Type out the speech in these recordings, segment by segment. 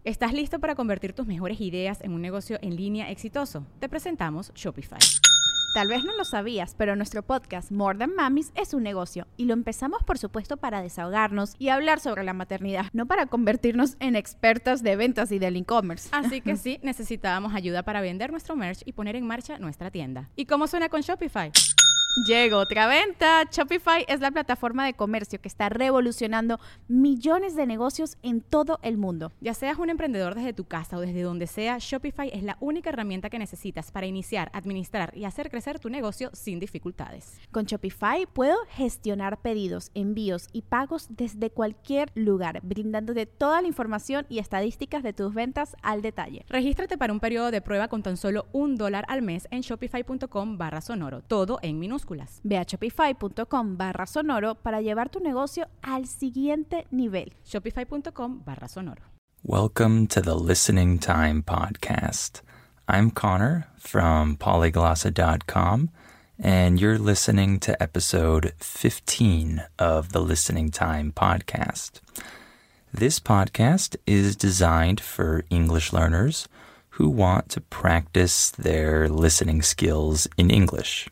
¿Estás listo para convertir tus mejores ideas en un negocio en línea exitoso? Te presentamos Shopify. Tal vez no lo sabías, pero nuestro podcast More Than Mamis es un negocio y lo empezamos por supuesto para desahogarnos y hablar sobre la maternidad, no para convertirnos en expertas de ventas y del e-commerce. Así que sí, necesitábamos ayuda para vender nuestro merch y poner en marcha nuestra tienda. ¿Y cómo suena con Shopify? Llegó otra venta. Shopify es la plataforma de comercio que está revolucionando millones de negocios en todo el mundo. Ya seas un emprendedor desde tu casa o desde donde sea, Shopify es la única herramienta que necesitas para iniciar, administrar y hacer crecer tu negocio sin dificultades. Con Shopify puedo gestionar pedidos, envíos y pagos desde cualquier lugar, brindándote toda la información y estadísticas de tus ventas al detalle. Regístrate para un periodo de prueba con tan solo $1 al mes en shopify.com/sonoro, todo en minúsculas. Ve a shopify.com/sonoro para llevar tu negocio al siguiente nivel. Shopify.com/sonoro. Welcome to the Listening Time Podcast. I'm Connor from polyglossa.com, and you're listening to episode 15 of the Listening Time Podcast. This podcast is designed for English learners who want to practice their listening skills in English.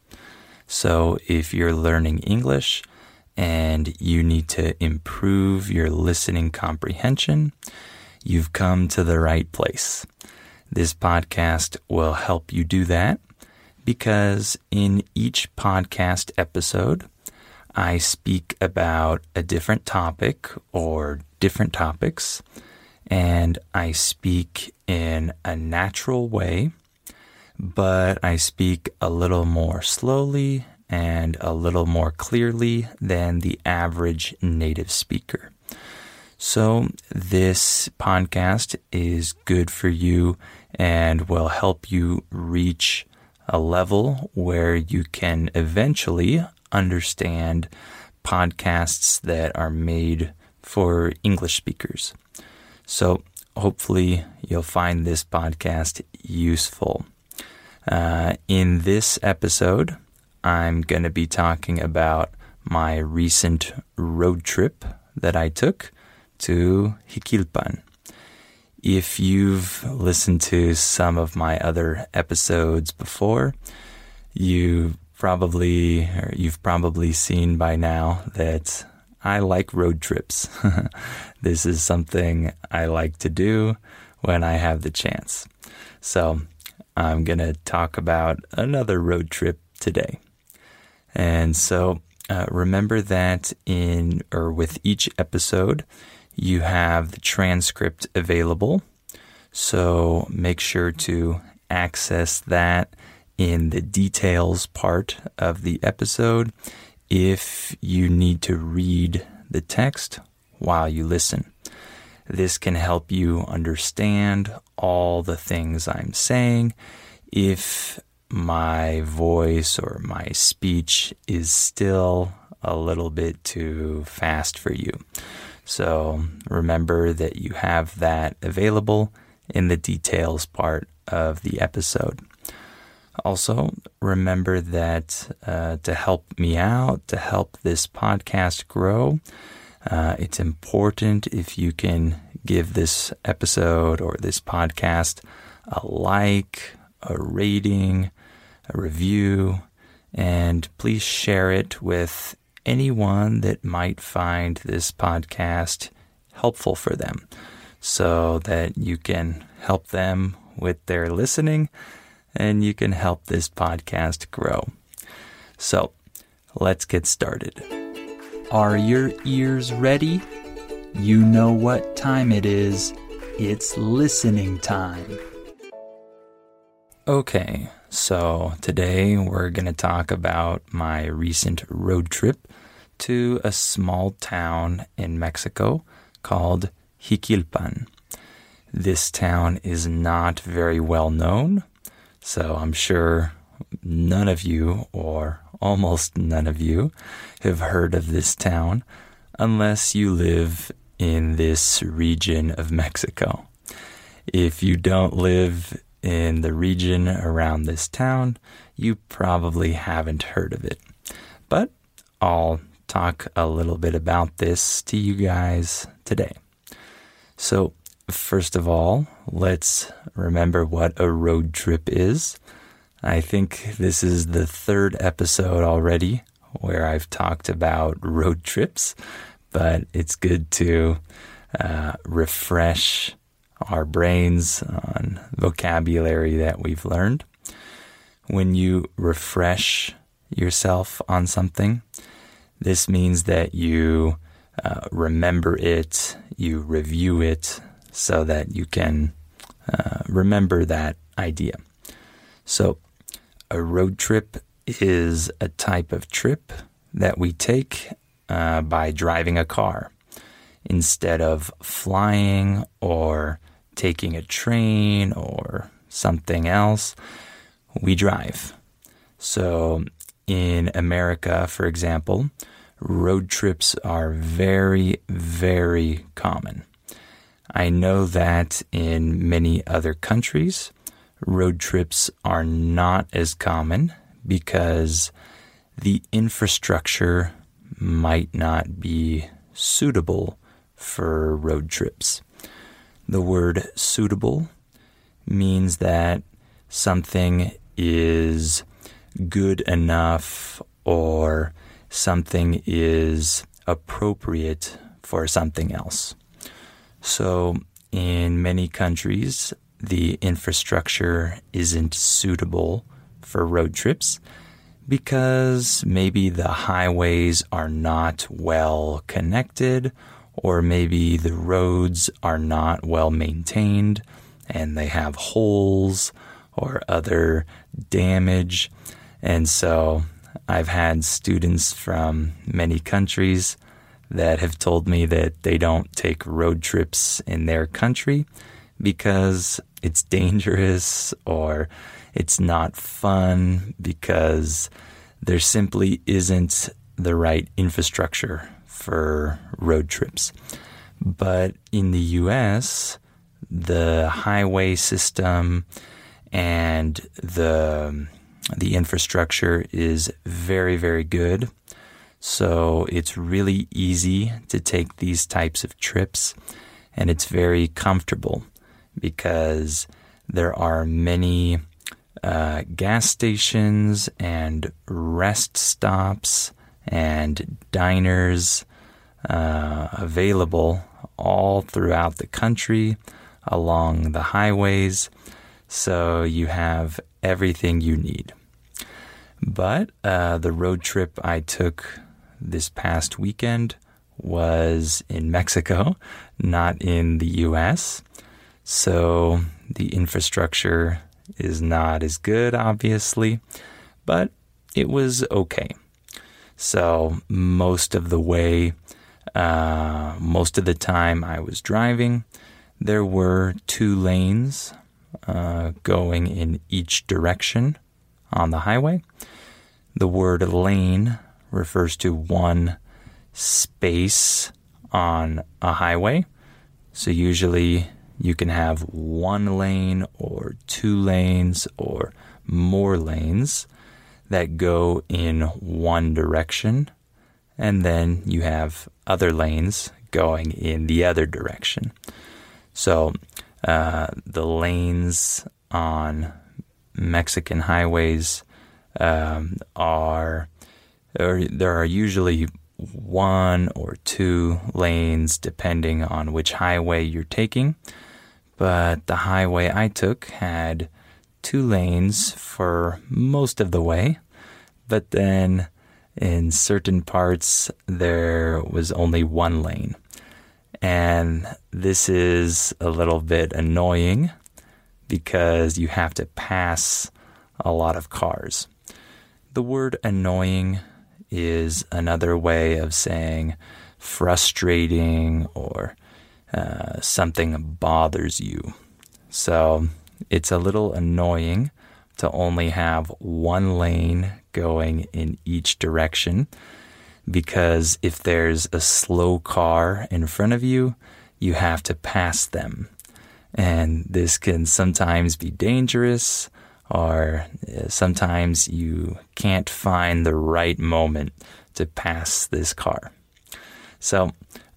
So if you're learning English and you need to improve your listening comprehension, you've come to the right place. This podcast will help you do that because in each podcast episode, I speak about a different topic or different topics, and I speak in a natural way, but I speak a little more slowly and a little more clearly than the average native speaker. So this podcast is good for you and will help you reach a level where you can eventually understand podcasts that are made for English speakers. So hopefully you'll find this podcast useful. In this episode, I'm going to be talking about my recent road trip that I took to Jiquilpan. If you've listened to some of my other episodes before, you've probably seen by now that I like road trips. This is something I like to do when I have the chance. So I'm going to talk about another road trip today. And so remember that with each episode, you have the transcript available. So make sure to access that in the details part of the episode if you need to read the text while you listen. This can help you understand all the things I'm saying if my voice or my speech is still a little bit too fast for you. So remember that you have that available in the details part of the episode. Also, remember that to help me out, to help this podcast grow, it's important if you can give this episode or this podcast a like, a rating, a review, and please share it with anyone that might find this podcast helpful for them so that you can help them with their listening and you can help this podcast grow. So, let's get started. Are your ears ready? You know what time it is. It's listening time. Okay, so today we're going to talk about my recent road trip to a small town in Mexico called Jiquilpan. This town is not very well known, so I'm sure none of you, or almost none of you, have heard of this town unless you live in this region of Mexico. If you don't live in the region around this town, you probably haven't heard of it. But I'll talk a little bit about this to you guys today. So first of all, let's remember what a road trip is. I think this is the third episode already where I've talked about road trips, but it's good to refresh our brains on vocabulary that we've learned. When you refresh yourself on something, this means that you remember it, you review it so that you can remember that idea. So a road trip is a type of trip that we take by driving a car. Instead of flying or taking a train or something else, we drive. So in America, for example, road trips are very, very common. I know that in many other countries, road trips are not as common because the infrastructure might not be suitable for road trips. The word suitable means that something is good enough or something is appropriate for something else. So in many countries, the infrastructure isn't suitable for road trips because maybe the highways are not well connected, or maybe the roads are not well maintained and they have holes or other damage. And so I've had students from many countries that have told me that they don't take road trips in their country because it's dangerous or it's not fun because there simply isn't the right infrastructure for road trips. But in the US, the highway system and the infrastructure is very, very good. So it's really easy to take these types of trips, and it's very comfortable because there are many gas stations and rest stops and diners available all throughout the country along the highways. So you have everything you need. But the road trip I took this past weekend was in Mexico, not in the US. So the infrastructure is not as good, obviously, but it was okay. So most of the time I was driving, there were 2 lanes going in each direction on the highway. The word lane refers to one space on a highway. So usually you can have 1 lane or 2 lanes or more lanes that go in one direction, and then you have other lanes going in the other direction. So the lanes on Mexican highways there are usually 1 or 2 lanes depending on which highway you're taking. But the highway I took had 2 lanes for most of the way. But then in certain parts, there was only 1 lane. And this is a little bit annoying because you have to pass a lot of cars. The word annoying is another way of saying frustrating or something bothers you. So it's a little annoying to only have 1 lane going in each direction, because if there's a slow car in front of you, you have to pass them. And this can sometimes be dangerous, or sometimes you can't find the right moment to pass this car. So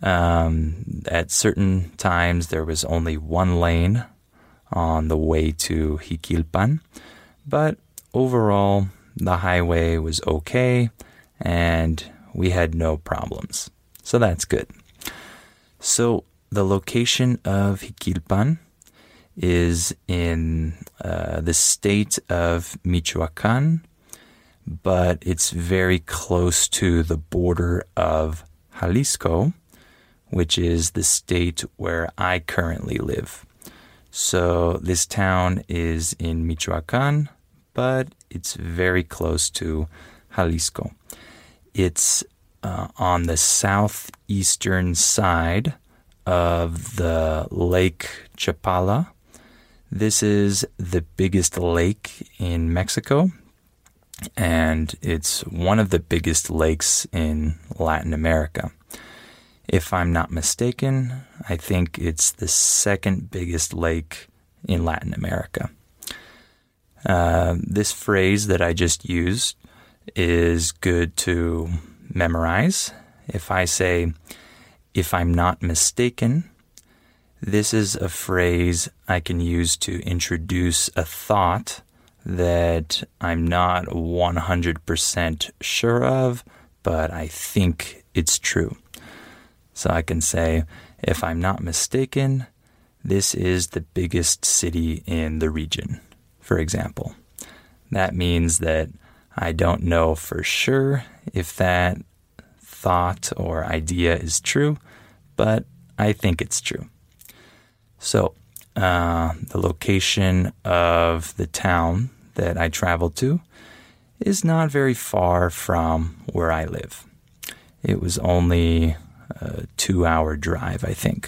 At certain times, there was only one lane on the way to Jiquilpan, but overall, the highway was okay, and we had no problems. So that's good. So the location of Jiquilpan is in the state of Michoacan, but it's very close to the border of Jalisco, which is the state where I currently live. So this town is in Michoacan, but it's very close to Jalisco. It's on the southeastern side of the Lake Chapala. This is the biggest lake in Mexico, and it's one of the biggest lakes in Latin America. If I'm not mistaken, I think it's the second biggest lake in Latin America. This phrase that I just used is good to memorize. If I say, if I'm not mistaken, this is a phrase I can use to introduce a thought that I'm not 100% sure of, but I think it's true. So I can say, if I'm not mistaken, this is the biggest city in the region, for example. That means that I don't know for sure if that thought or idea is true, but I think it's true. So the location of the town that I traveled to is not very far from where I live. It was only a 2-hour drive, I think.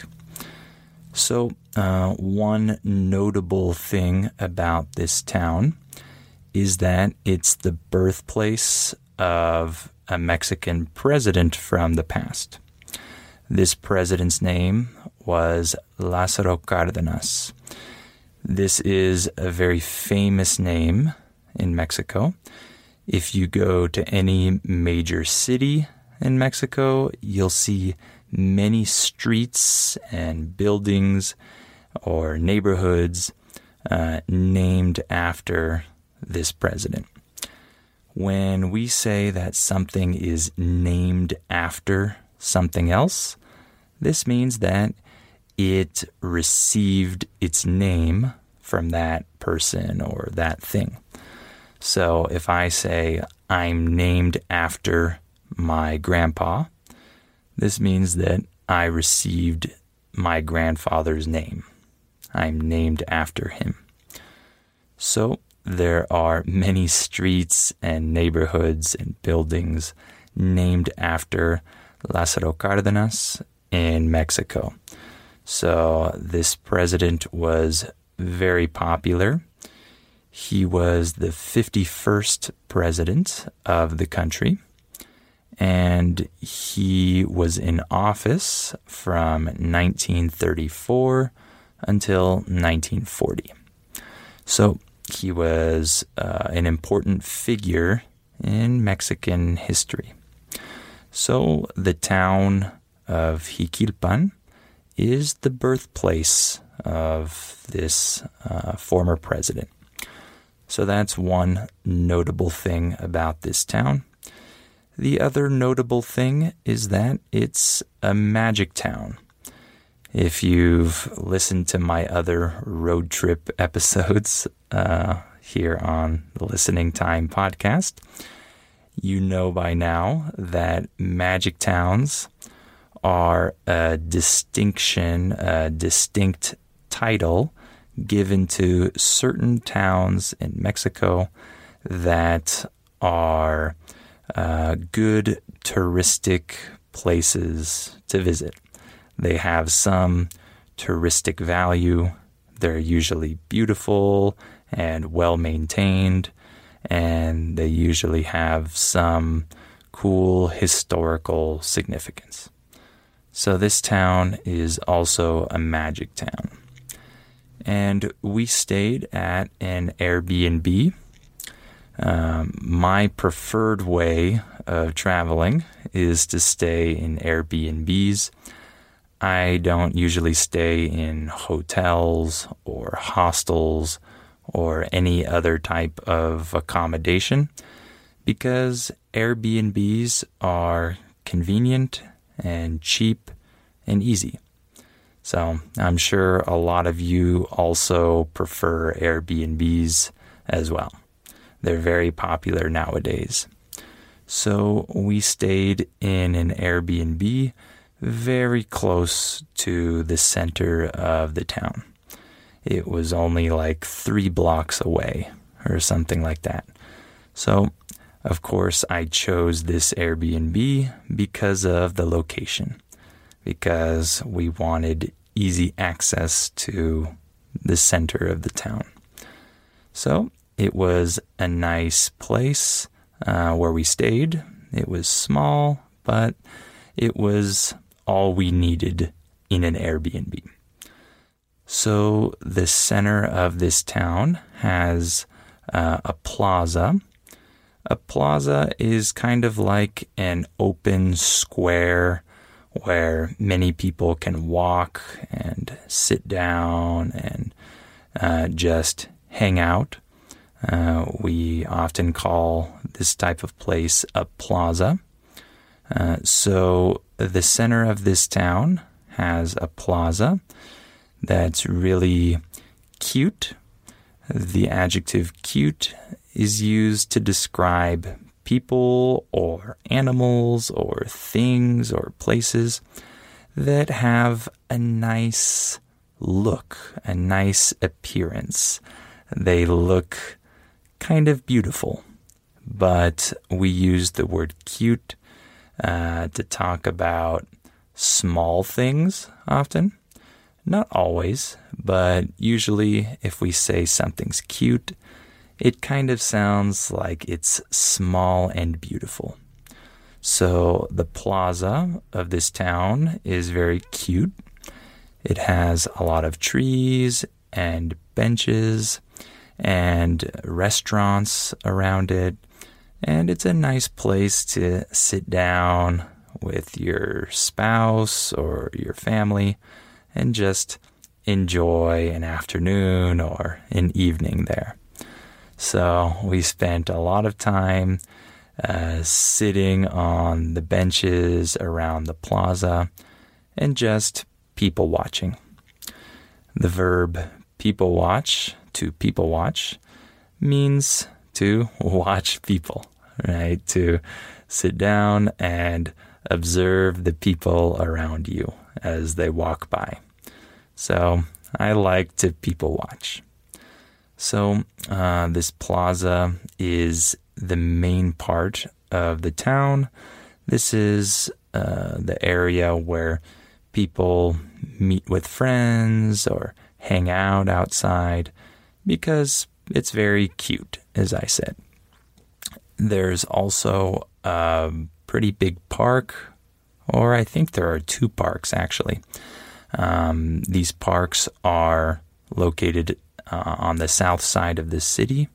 So one notable thing about this town is that it's the birthplace of a Mexican president from the past. This president's name was Lázaro Cárdenas. This is a very famous name in Mexico. If you go to any major city in Mexico, you'll see many streets and buildings or neighborhoods named after this president. When we say that something is named after something else, this means that it received its name from that person or that thing. So if I say, I'm named after my grandpa, this means that I received my grandfather's name. I'm named after him. So there are many streets and neighborhoods and buildings named after Lázaro Cárdenas in Mexico. So this president was very popular. He was the 51st president of the country, and he was in office from 1934 until 1940. So he was an important figure in Mexican history. So the town of Jiquilpan is the birthplace of this former president. So that's one notable thing about this town. The other notable thing is that it's a magic town. If you've listened to my other road trip episodes here on the Listening Time podcast, you know by now that magic towns are a distinct title given to certain towns in Mexico that are good touristic places to visit. They have some touristic value. They're usually beautiful and well-maintained, and they usually have some cool historical significance. So this town is also a magic town. And we stayed at an Airbnb. My preferred way of traveling is to stay in Airbnbs. I don't usually stay in hotels or hostels or any other type of accommodation because Airbnbs are convenient and cheap and easy. So I'm sure a lot of you also prefer Airbnbs as well. They're very popular nowadays. So we stayed in an Airbnb very close to the center of the town. It was only like 3 blocks away or something like that. So, of course, I chose this Airbnb because of the location, because we wanted easy access to the center of the town. So it was a nice place where we stayed. It was small, but it was all we needed in an Airbnb. So the center of this town has a plaza. A plaza is kind of like an open square where many people can walk and sit down and just hang out. We often call this type of place a plaza. So the center of this town has a plaza that's really cute. The adjective cute is used to describe people or animals or things or places that have a nice look, a nice appearance. They look kind of beautiful, but we use the word cute to talk about small things often. Not always, but usually if we say something's cute, it kind of sounds like it's small and beautiful. So the plaza of this town is very cute. It has a lot of trees and benches and restaurants around it. And it's a nice place to sit down with your spouse or your family and just enjoy an afternoon or an evening there. So we spent a lot of time sitting on the benches around the plaza and just people watching. The verb people watch, to people watch, means to watch people, right? To sit down and observe the people around you as they walk by. So I like to people watch. So this plaza is the main part of the town. This is the area where people meet with friends or hang out outside because it's very cute, as I said. There's also a pretty big park, or I think there are 2 parks actually. These parks are located on the south side of the city,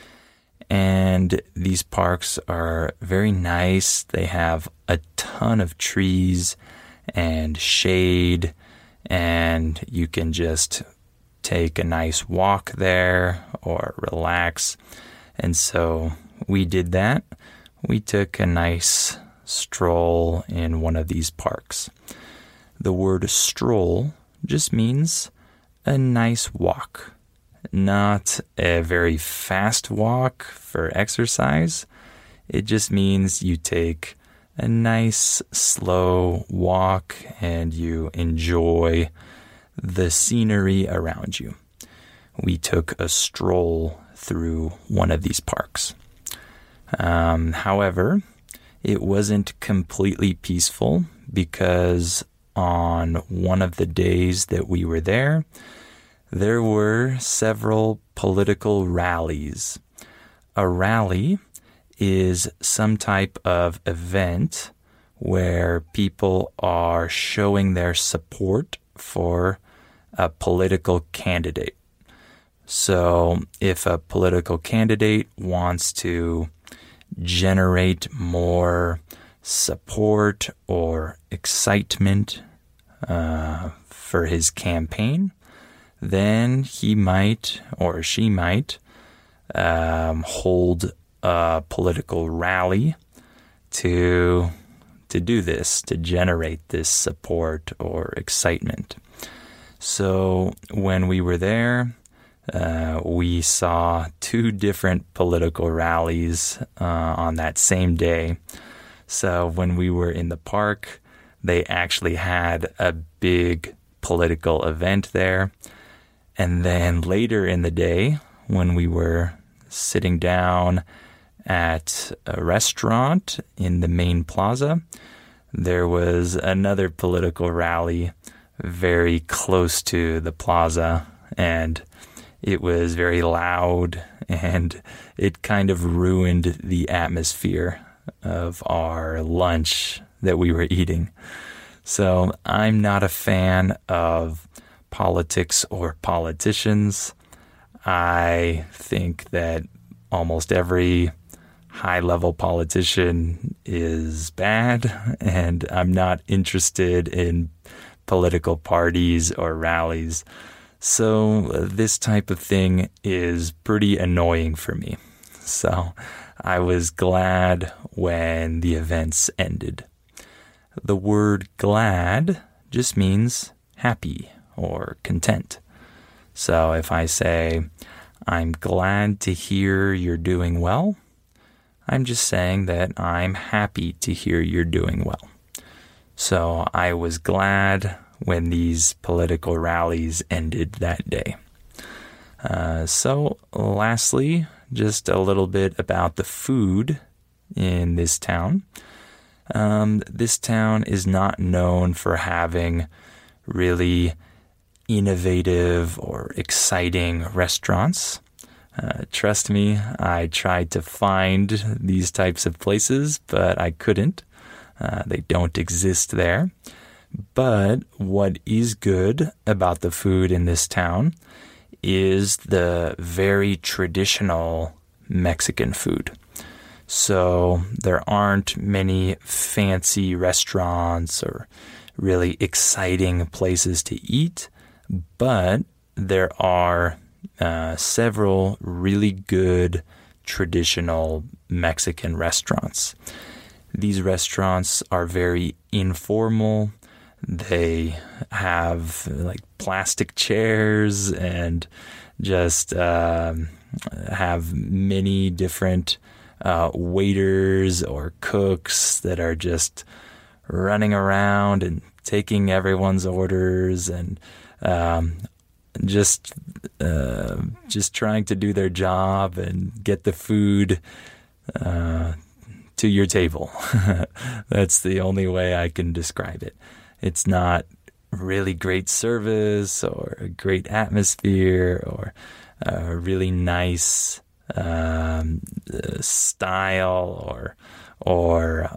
and these parks are very nice. They have a ton of trees and shade, and you can just take a nice walk there or relax. And so we did that. We took a nice stroll in one of these parks. The word stroll just means a nice walk, not a very fast walk for exercise. It just means you take a nice slow walk and you enjoy the scenery around you. We took a stroll through one of these parks. However, it wasn't completely peaceful because on one of the days that we were there were several political rallies. A rally is some type of event where people are showing their support for a political candidate. So if a political candidate wants to generate more support or excitement for his campaign, then he might or she might hold a political rally to do this, to generate this support or excitement. So when we were there, we saw 2 different political rallies on that same day. So when we were in the park, they actually had a big political event there. And then later in the day, when we were sitting down at a restaurant in the main plaza, there was another political rally very close to the plaza, and it was very loud, and it kind of ruined the atmosphere of our lunch that we were eating. So I'm not a fan of politics or politicians. I think that almost every high-level politician is bad, and I'm not interested in political parties or rallies. So this type of thing is pretty annoying for me. So I was glad when the events ended. The word glad just means happy or content. So if I say, I'm glad to hear you're doing well, I'm just saying that I'm happy to hear you're doing well. So I was glad when these political rallies ended that day. So lastly, just a little bit about the food in this town. This town is not known for having really innovative or exciting restaurants. Trust me, I tried to find these types of places, but I couldn't. They don't exist there. But what is good about the food in this town is the very traditional Mexican food. So there aren't many fancy restaurants or really exciting places to eat, but there are several really good traditional Mexican restaurants. These restaurants are very informal. They have like plastic chairs and just have many different waiters or cooks that are just running around and taking everyone's orders and just trying to do their job and get the food to your table. That's the only way I can describe it. It's not really great service or a great atmosphere or a really nice style or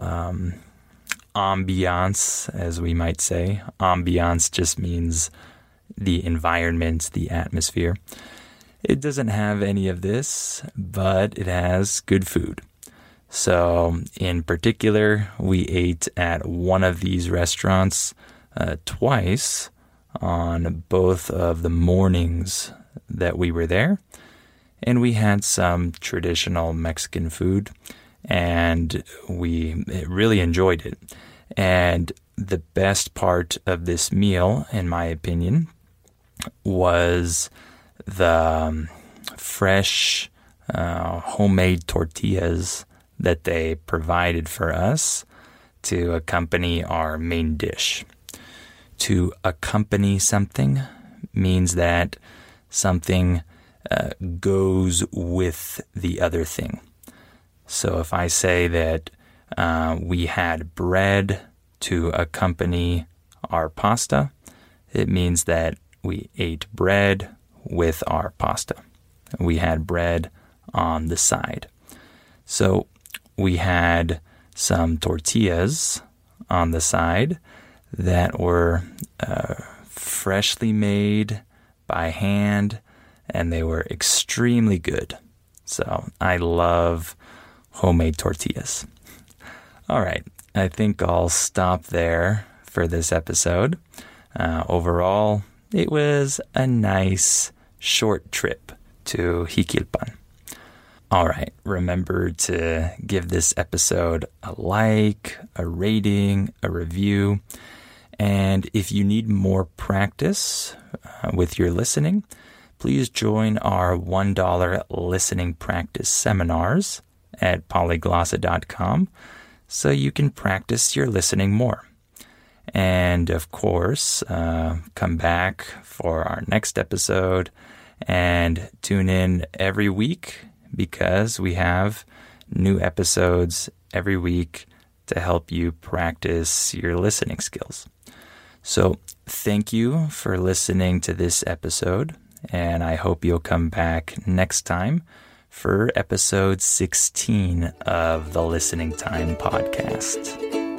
ambiance, as we might say. Ambiance just means the environment, the atmosphere. It doesn't have any of this, but it has good food. So in particular, we ate at one of these restaurants twice on both of the mornings that we were there. And we had some traditional Mexican food, and we really enjoyed it. And the best part of this meal, in my opinion, was the fresh homemade tortillas that they provided for us to accompany our main dish. To accompany something means that something goes with the other thing. So if I say that we had bread to accompany our pasta, it means that we ate bread with our pasta. We had bread on the side. So we had some tortillas on the side that were freshly made by hand, and they were extremely good. So I love homemade tortillas. All right, I think I'll stop there for this episode. Overall, it was a nice short trip to Jiquilpan. All right, remember to give this episode a like, a rating, a review. And if you need more practice with your listening, please join our $1 listening practice seminars at polyglossa.com so you can practice your listening more. And of course, come back for our next episode and tune in every week because we have new episodes every week to help you practice your listening skills. So thank you for listening to this episode, and I hope you'll come back next time for episode 16 of the Listening Time podcast.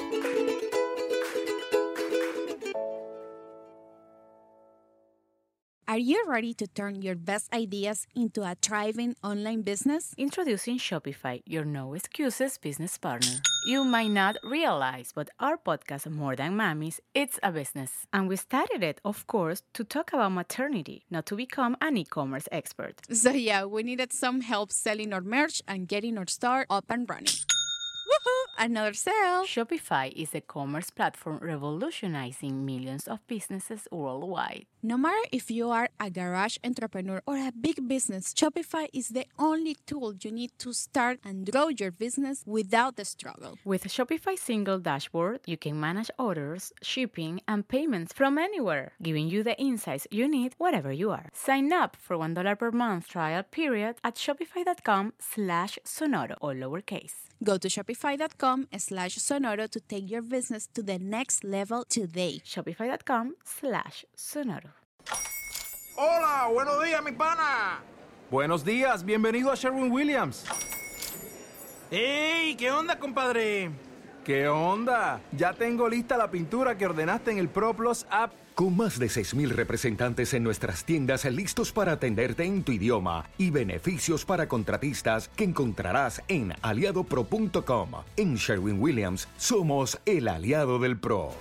Are you ready to turn your best ideas into a thriving online business? Introducing Shopify, your no excuses business partner. You might not realize, but our podcast, More Than Mommies, it's a business. And we started it, of course, to talk about maternity, not to become an e-commerce expert. So yeah, we needed some help selling our merch and getting our store up and running. Woohoo! Another sale! Shopify is a commerce platform revolutionizing millions of businesses worldwide. No matter if you are a garage entrepreneur or a big business, Shopify is the only tool you need to start and grow your business without the struggle. With Shopify's single dashboard, you can manage orders, shipping, and payments from anywhere, giving you the insights you need wherever you are. Sign up for $1 per month trial period at shopify.com/sonoro, all lowercase. Go to shopify.com/sonoro to take your business to the next level today. Shopify.com/sonoro. Hola, buenos días, mi pana. Buenos días, bienvenido a Sherwin-Williams. ¡Ey! ¿Qué onda, compadre? ¿Qué onda? Ya tengo lista la pintura que ordenaste en el ProPlus app. Con más de 6,000 representantes en nuestras tiendas listos para atenderte en tu idioma y beneficios para contratistas que encontrarás en aliadopro.com. En Sherwin-Williams somos el aliado del pro.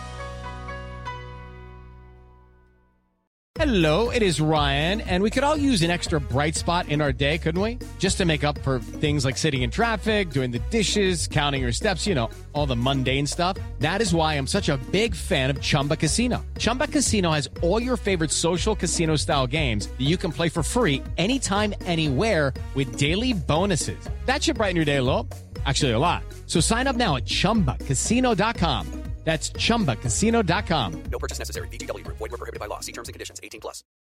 Hello, it is Ryan, and we could all use an extra bright spot in our day, couldn't we? Just to make up for things like sitting in traffic, doing the dishes, counting your steps, all the mundane stuff. That is why I'm such a big fan of Chumba Casino. Chumba Casino has all your favorite social casino-style games that you can play for free anytime, anywhere with daily bonuses. That should brighten your day a little. Actually, a lot. So sign up now at ChumbaCasino.com. That's ChumbaCasino.com. No purchase necessary. VGW Group. Void where prohibited by law. See terms and conditions. 18+.